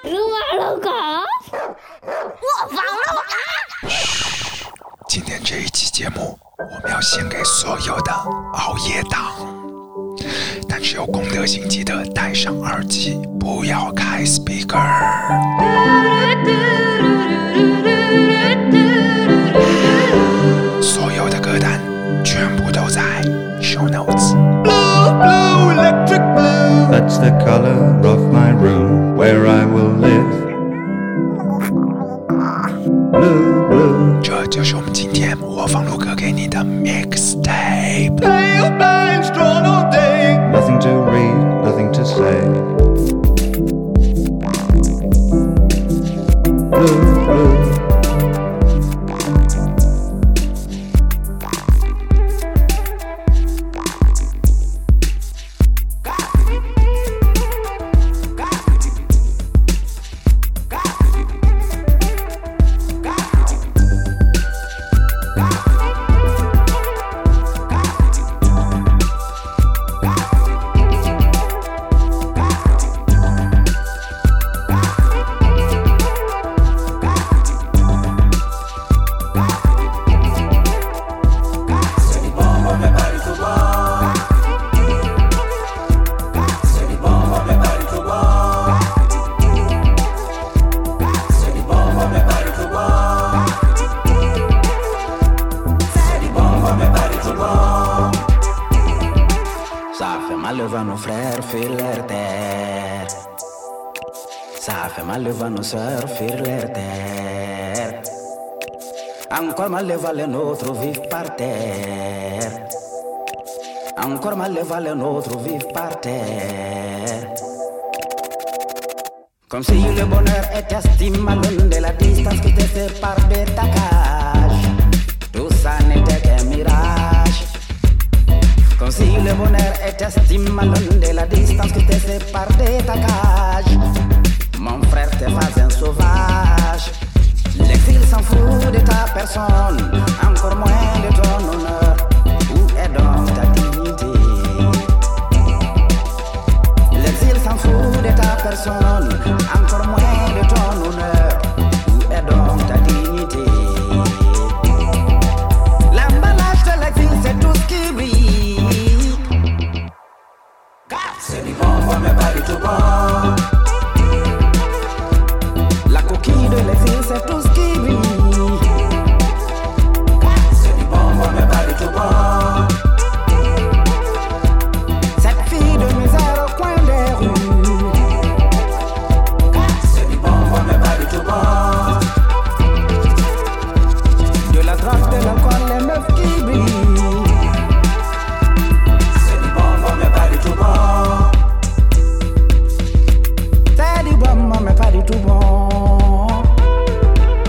我放了啊！ 嘘，今天这一期节目我们要献给所有的熬夜党，但是有公德心记得戴上耳机，不要开 speaker。所有的歌单全部都在 show notes。 Blue, blue, electric blue. That's the color of my room where I will live. Blue, blue. 这就是我们今天播放录歌给你的 mixtape。 Pale lines drawn all day. Nothing to read, nothing to say. Blue, blue. Ça fait mal le vent nos frères fuir leur terre. Ça fait mal le vent nos sœurs fuir leur terre. Encore mal le vent les nôtres vivent par terre. Encore mal le vent les nôtres vivent par terre. Comme si le bonheur était estimé de la distance qui te sépare de ta cage. Tout ça n'était qu'un mirage. Comme si le bonheur était estimé de la distance qui te sépare de ta cage. Mon frère, t'es pas un sauvage. L'exil s'en fout de ta personne, encore moins de ton honneur. Où est donc ta dignité? L'exil s'en fout de ta personne, encore moins de ton honneur. Où est donc ta dignité? L'emballage de l'exil, c'est tout ce qui brille. C'est du bon, mais pas du tout bon. La coquille de l'exil, c'est tout ce qui brille. C'est du bon, mais pas du tout bon. Cette fille de misère au coin des rues. C'est du bon, mais pas du tout bon. De la drogue, de l'alcool, les meufs qui brillent. C'est du bon, mais pas du tout bon. C'est du bon, mais pas du tout bon.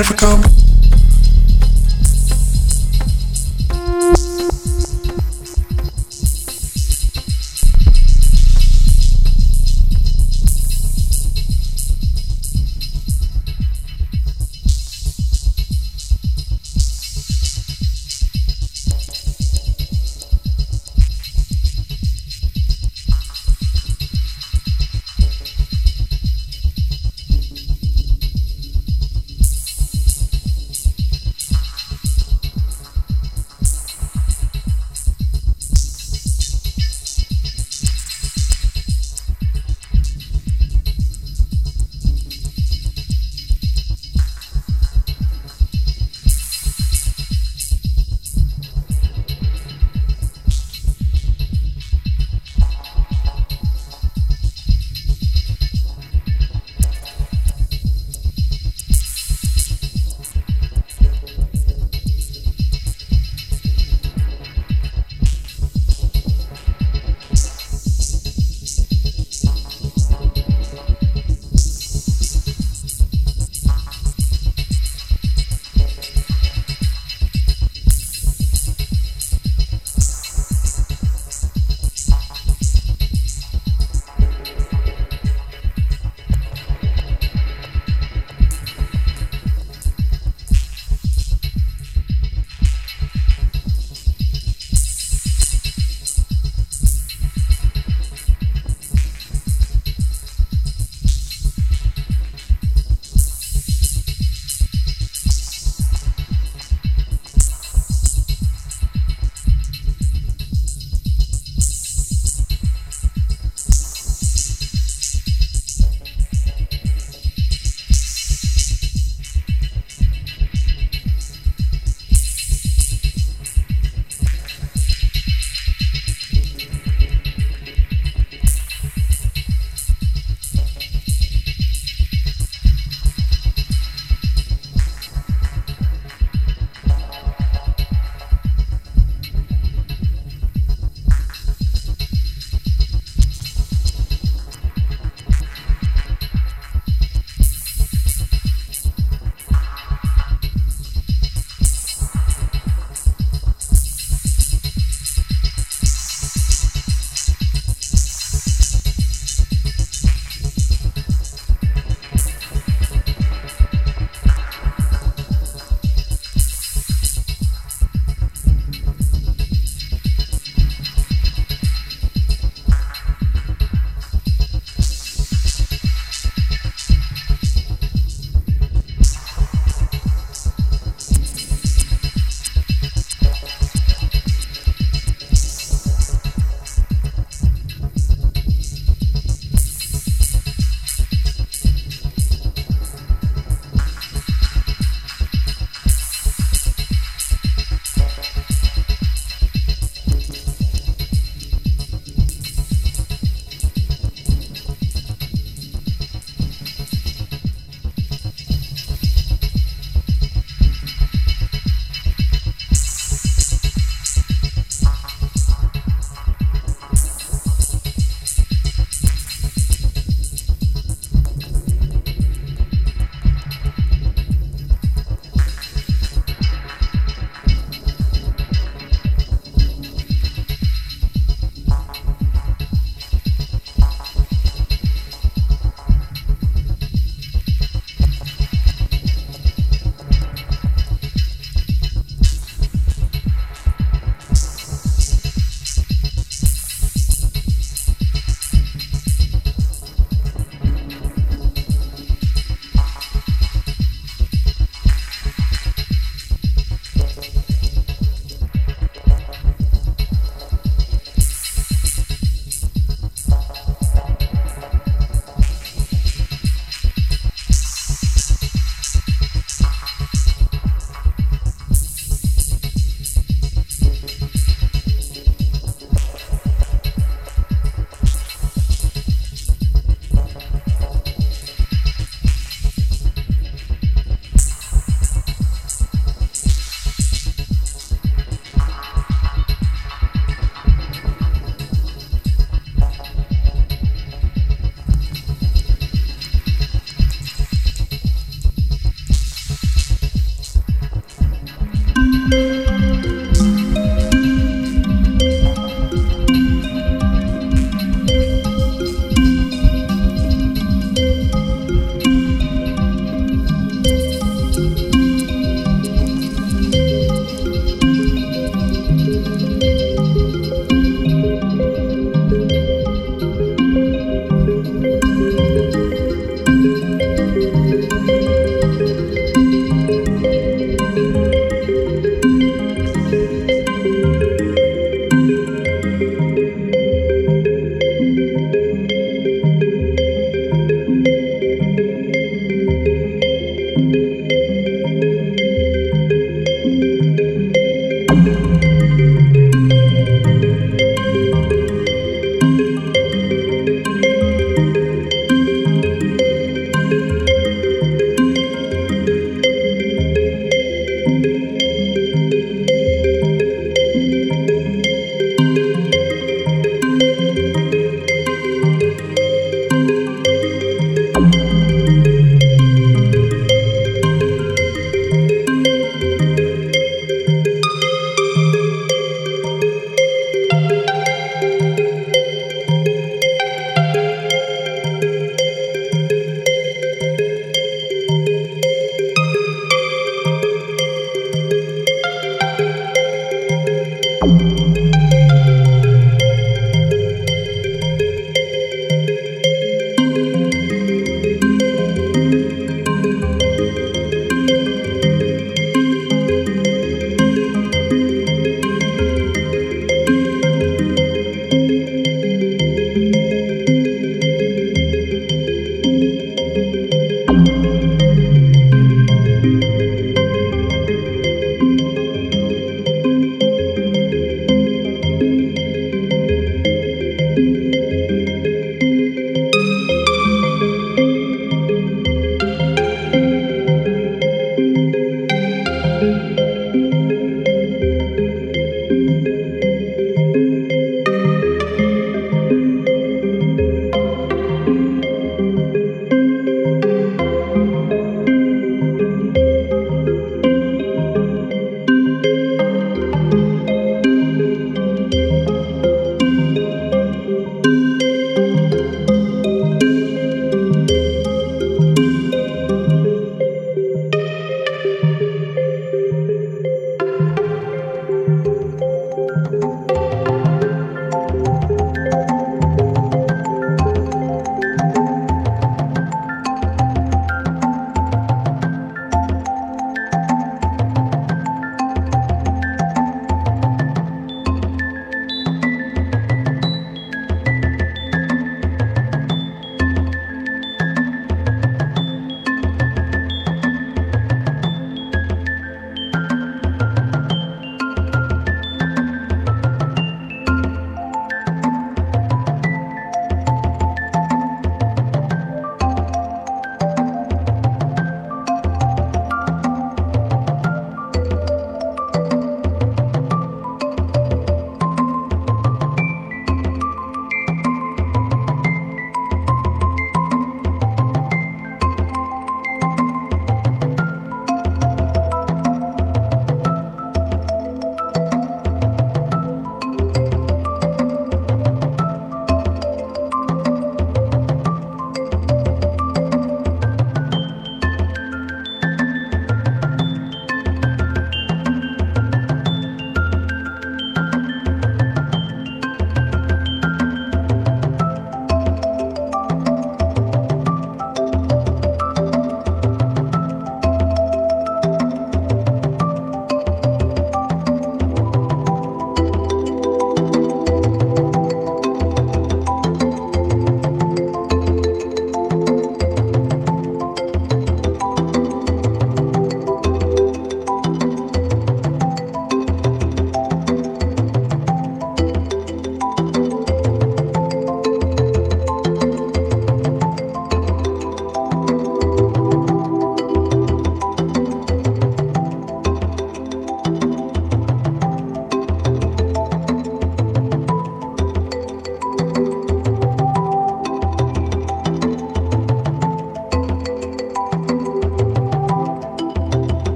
never come.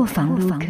卧房录歌。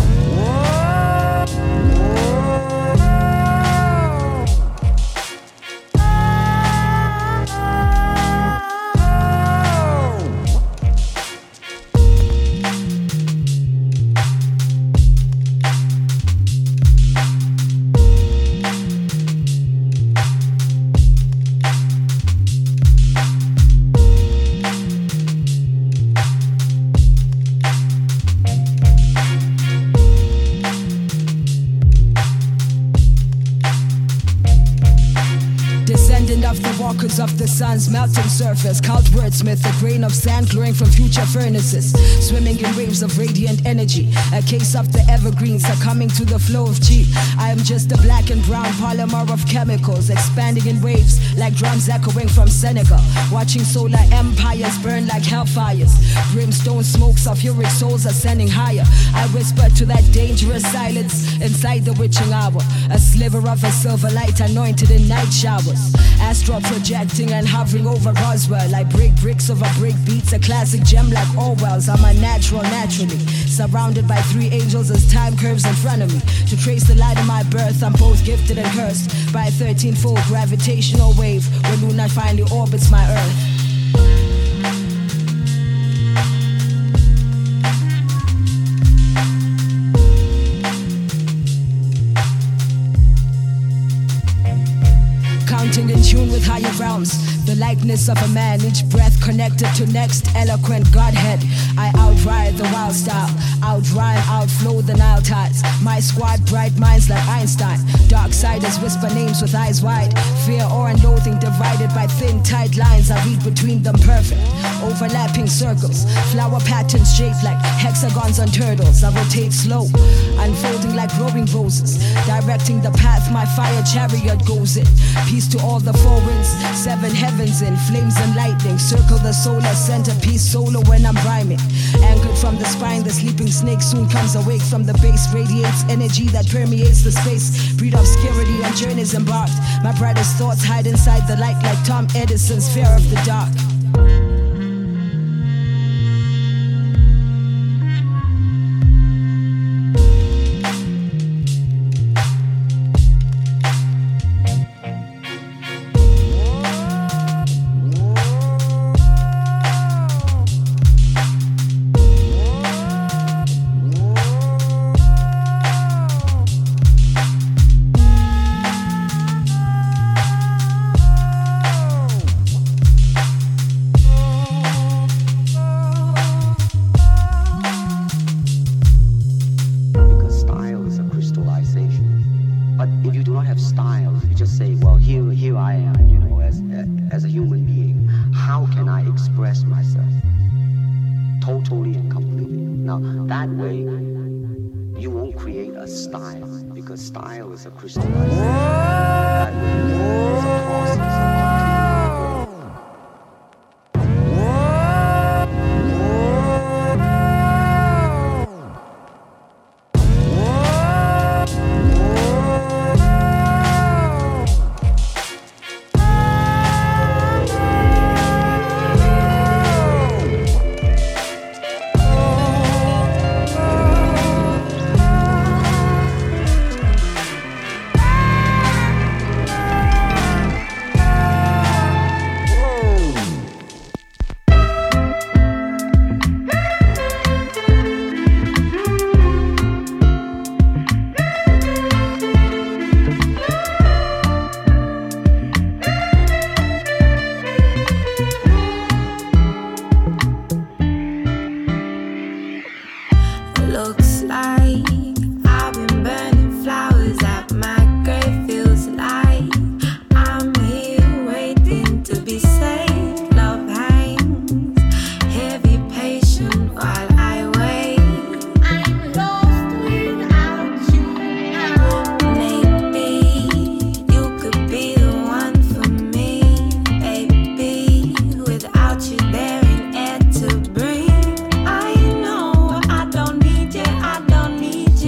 Of the sun's melting surface, cult wordsmith, a grain of sand glowing from future furnaces, swimming in waves of radiant energy, a case of the evergreens succumbing to the flow of chi. I am just a black and brown polymer of chemicals, expanding in waves like drums echoing from Senegal, watching solar empires burn like hellfires, brimstone smokes of uric souls ascending higher. I whisper to that dangerous silence inside the witching hour, a sliver of a silver light anointed in night showers, astral projecting and hovering over Roswell. I break bricks over break beats, a classic gem like Orwell's. I'm unnatural naturally, surrounded by 3 angels as time curves in front of me. To trace the light of my birth, I'm both gifted and cursed by a 13-fold gravitational wave when Luna finally orbits my earth. In tune with higher realms, the likeness of a man, each breath connected to next eloquent Godhead. I outride the wild style, outrhyme, outflow the Nile tides. My squad bright minds like Einstein, darksiders whisper names with eyes wide. Fear, awe and loathing divided by thin tight lines. I read between them perfect, overlapping circles, flower patterns shaped like hexagons on turtles. I rotate slow, unfolding like glowing roses, directing the path my fire chariot goes in. Peace to all the 4 winds, 7 heavens in flames and lightning. Circle the solar centerpiece solo when I'm rhyming. Anchored from the spine, the sleeping snake soon comes awake from the base. Radiates energy that permeates the space. Breed obscurity on journeys embarked. My brightest thoughts hide inside the light like Tom Edison's fear of the dark. Style is a crystallization. That is a process I don't need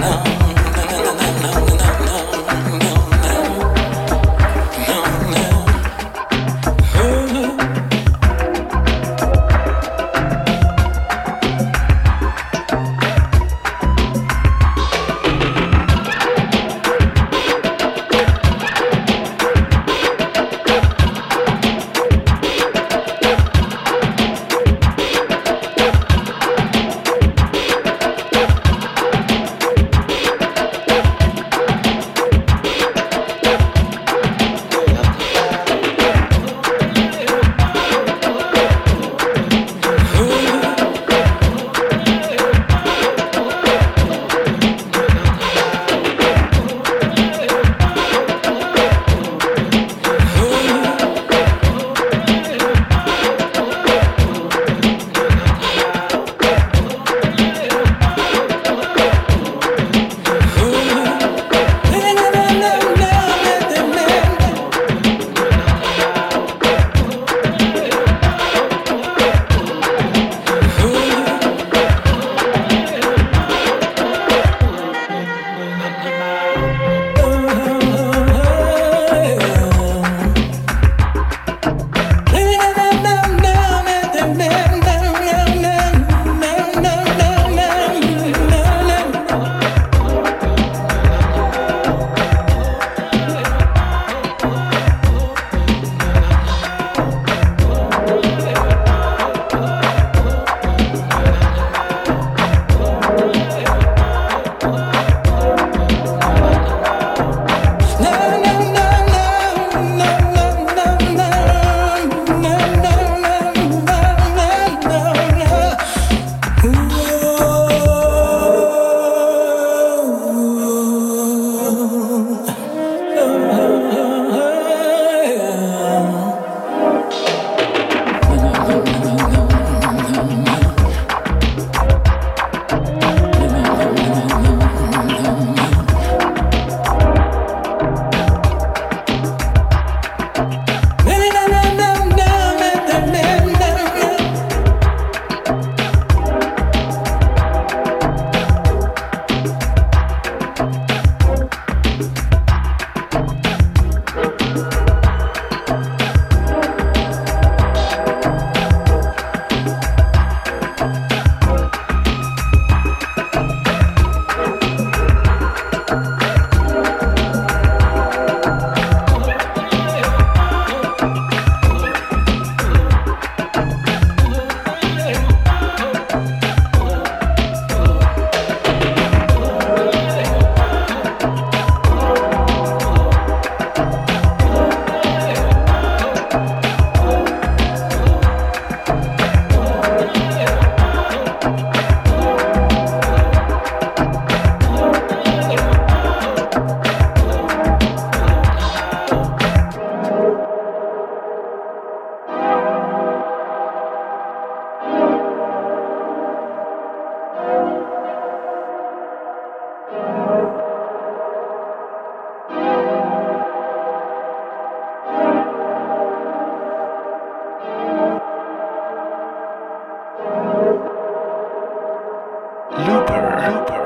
Looper.